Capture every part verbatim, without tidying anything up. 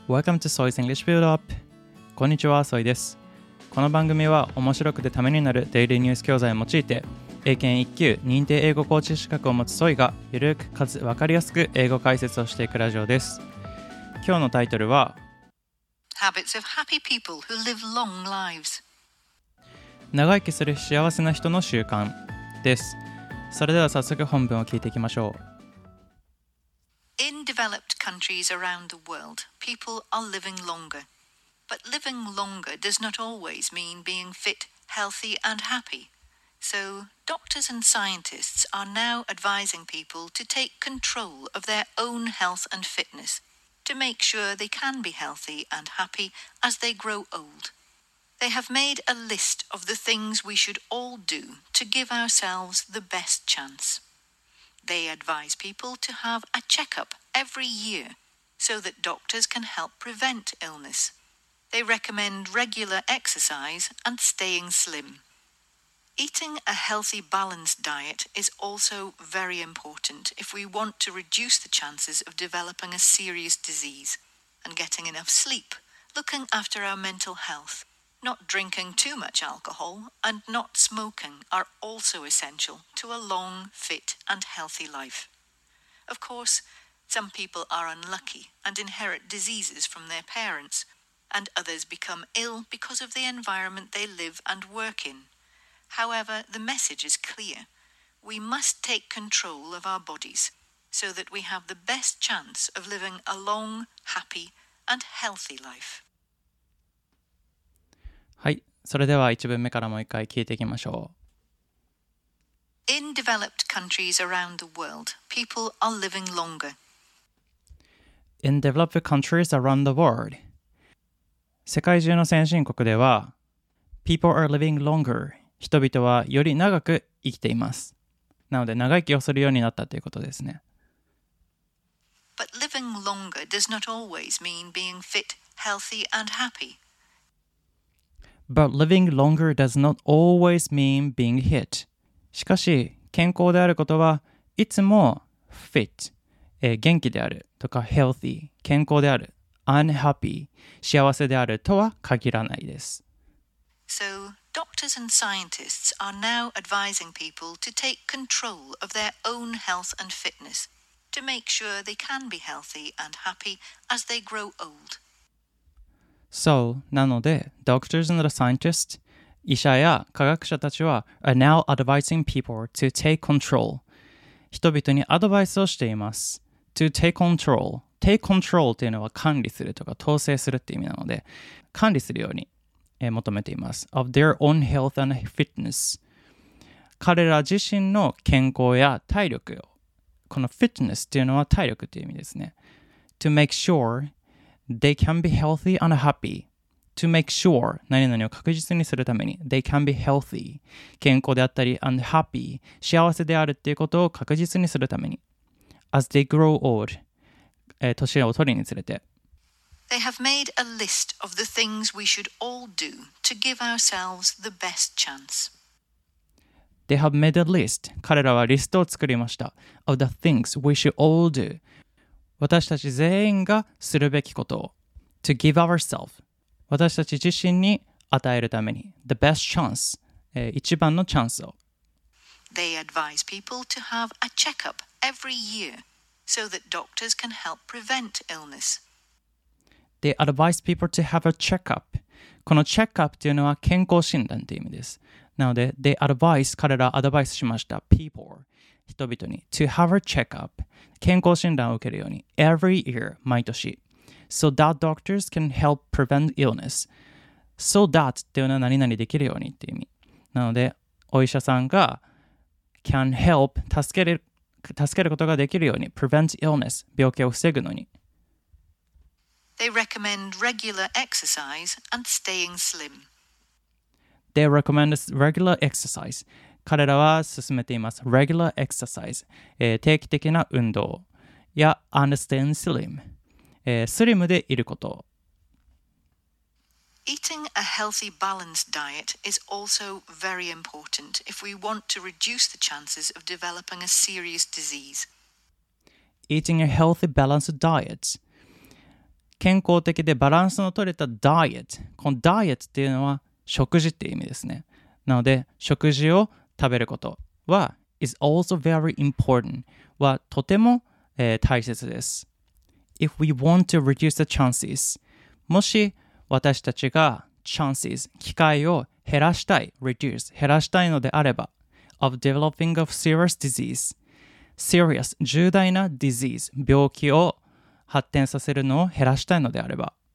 Welcome to Soy's English Build Up。こんにちは、ソイです。この番組は面白くてためになるデイリーニュース教材を用いて、英検いっ級認定英語コーチ資格を持つソイがゆるくかつ分かりやすく英語解説をしていくラジオです。今日のタイトルは Habits of happy people who live long lives。 長生きする幸せな人の習慣です。それでは早速本文を聞いていきましょう。 In developed countries around the world, people are living longer. But living longer does not always mean being fit, healthy, and happy. So, doctors and scientists are now advising people to take control of their own health and fitness, to make sure they can be healthy and happy as they grow old. They have made a list of the things we should all do to give ourselves the best chance.They advise people to have a checkup every year so that doctors can help prevent illness. They recommend regular exercise and staying slim. Eating a healthy, balanced diet is also very important if we want to reduce the chances of developing a serious disease, and getting enough sleep, looking after our mental health.Not drinking too much alcohol and not smoking are also essential to a long, fit, and healthy life. Of course, some people are unlucky and inherit diseases from their parents, and others become ill because of the environment they live and work in. However, the message is clear. We must take control of our bodies so that we have the best chance of living a long, happy, and healthy life. はい、それではいち文目からもう一回聞いていきましょう。In developed countries around the world, people are living longer. In developed countries around the world. 世界中の先進国では People are living longer. 人々はより長く生きています。なので長生きをするようになったということですね。 But living longer does not always mean being fit, healthy, and happy.But living longer does not always mean being fit. しかし、健康であることはいつも fit、えー、元気であるとか healthy、健康である、unhappy、幸せであるとは限らないです。 So, doctors and scientists are now advising people to take control of their own health and fitness, to make sure they can be healthy and happy as they grow old.So, なので、doctors and scientists、医者や科学者たちは are now advising people to take control。人々にアドバイスをしています。to take control。take control というのは管理するとか統制するっていう意味なので、管理するように、えー、求めています。of their own health and fitness。彼ら自身の健康や体力を、この fitness っていうのは体力っていう意味ですね。to make sure,They can be healthy and happy. To make sure 何々を確実にするために They can be healthy 健康であったり and happy 幸せであるっていうことを確実にするために As they grow old、えー、年を取りにつれて They have made a list of the things we should all do to give ourselves the best chance. They have made a list 彼らはリストを作りました of the things we should all do私たち全員がするべきことを to give ourselves 私たち自身に与えるために the best chance、えー、一番のチャンスを They advise people to have a checkup every year so that doctors can help prevent illness. They advise people to have a checkup このチェックアップというのは健康診断という意味ですなので They advise 彼らアドバイスしました people人々に to have a checkup 健康診断を受けるように every year 毎年 so that doctors can help prevent illness so that っていうのは何々できるようにっていう意味なのでお医者さんが can help 助ける助けることができるように prevent illness 病気を防ぐのに They recommend regular exercise and staying slim They recommend regular exercise彼らは進めています。regular exercise、えー、定期的な運動や and staying slim、えー、スリムでいること。 Eating a healthy, balanced diet is also very important if we want to reduce the chances of developing a serious disease. Eating a healthy, balanced diet 健康的でバランスの取れたダイエット。このダイエットっていうのは食事っていう意味ですね。なので、食事を食べることは is also very important はとても、えー、大切です。If we want to reduce the chances もし私たちが chances 機会を減らしたい reduce 減らしたいのであれば of developing of serious disease serious 重大な disease 病気を発展させるのを減らしたいのであれば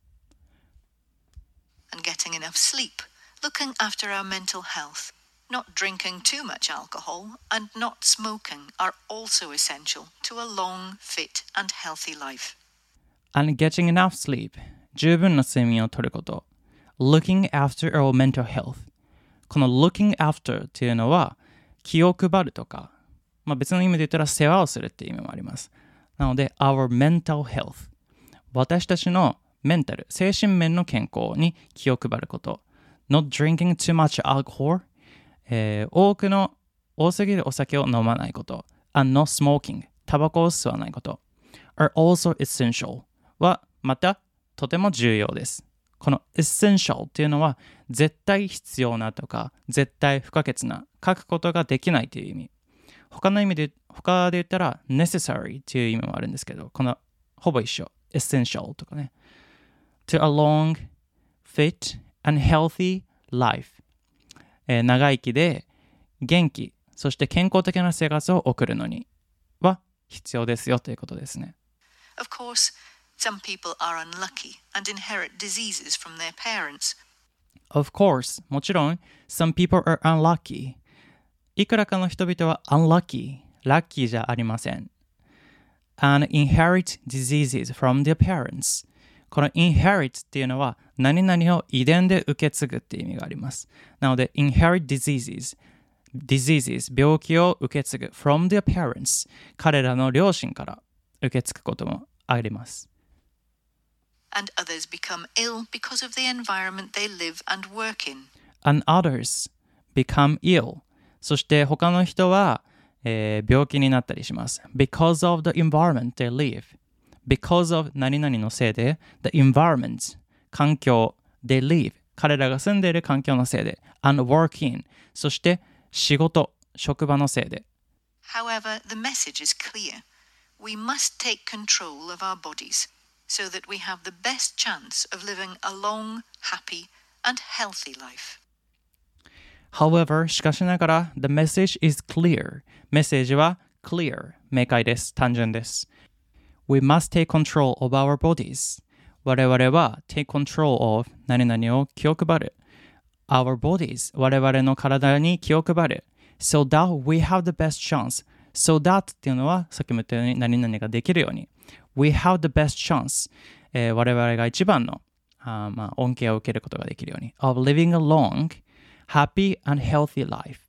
and getting enough sleep, looking after our mental health, not drinking too much alcohol, and not smoking are also essential to a long, fit, and healthy life. and getting enough sleep 十分な睡眠をとること looking after our mental health この looking after っていうのは気を配るとか、まあ、別の意味で言ったら世話をするっていう意味もあります。なので our mental health 私たちのメンタル精神面の健康に気を配ること not drinking too much alcohol、えー、多くの多すぎるお酒を飲まないこと and not smoking タバコを吸わないこと are also essential はまたとても重要です。この essential っていうのは絶対必要なとか絶対不可欠な書くことができないという意味。他の意味で他で言ったら necessary っていう意味もあるんですけど、このほぼ一緒 essential とかね to a long, fit and healthy life、えー、長生きで元気そして健康的な生活を送るのには必要ですよということですね。 Of course, some people are unlucky and inherit diseases from their parents. Of course, もちろん some people are unlucky いくらかの人々は unlucky ラッキーじゃありません and inherit diseases from their parents この inherit っていうのは何々を遺伝で受け継ぐっていう意味があります。なので inherit diseases diseases 病気を受け継ぐ from their parents 彼らの両親から受け継ぐこともあります。 And others become ill because of the environment they live and work in. And others become ill そして他の人は、えー、病気になったりします。Because of the environment they live. Because of 何々のせいで the environment 環境 they live 彼らが住んでいる環境のせいで and work in そして仕事職場のせいで However, the message is clear. We must take control of our bodies so that we have the best chance of living a long, happy and healthy life. However, しかしながら the message is clear メッセージは clear 明快です単純です We must take control of our bodies 我々は take control of 何々を気を配る our bodies 我々の体に気を配る so that we have the best chance so that っていうのはさっきも言ったように何々ができるように we have the best chance、えー、我々が一番のあ、まあ、恩恵を受けることができるように of living a long, happy and healthy life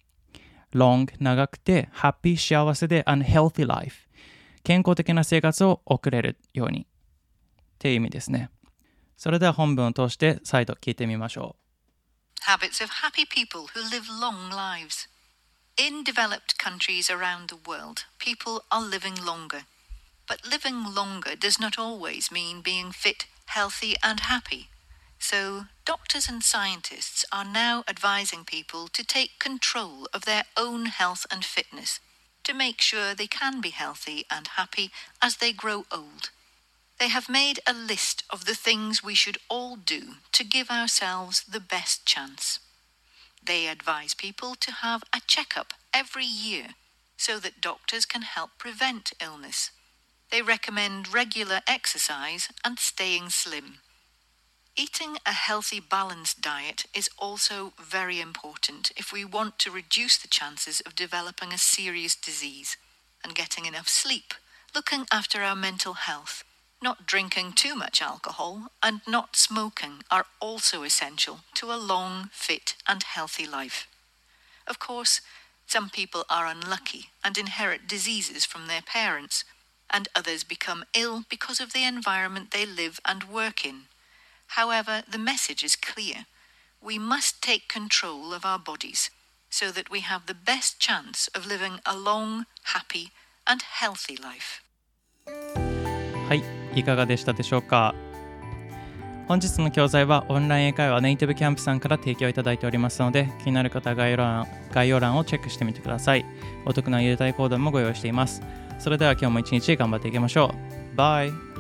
long 長くて happy 幸せで and healthy life 健康的な生活を送れるようにっていう意味ですね。それでは本文を通して再度聞いてみましょう。 Habits of happy people who live long lives. In developed countries around the world, people are living longer. But living longer does not always mean being fit, healthy, and happy. So, doctors and scientists are now advising people to take control of their own health and fitness to make sure they can be healthy and happy as they grow old. They have made a list of the things we should all do to give ourselves the best chance. They advise people to have a checkup every year so that doctors can help prevent illness. They recommend regular exercise and staying slim. Eating a healthy, balanced diet is also very important if we want to reduce the chances of developing a serious disease, and getting enough sleep, looking after our mental health, not drinking too much alcohol, and not smoking are also essential to a long, fit, and healthy life. Of course, some people are unlucky and inherit diseases from their parents, and others become ill because of the environment they live and work in. However, the message is clear. We must take control of our bodies so that we have the best chance of living a long, happy, and healthy life. はい、 いかがでしたでしょうか。本日の教材はオンライン英会話ネイティブキャンプさんから提供いただいておりますので、気になる方は概要欄、概要欄をチェックしてみてください。お得な入れたいコードもご用意しています。それでは今日も一日頑張っていきましょう。バイ。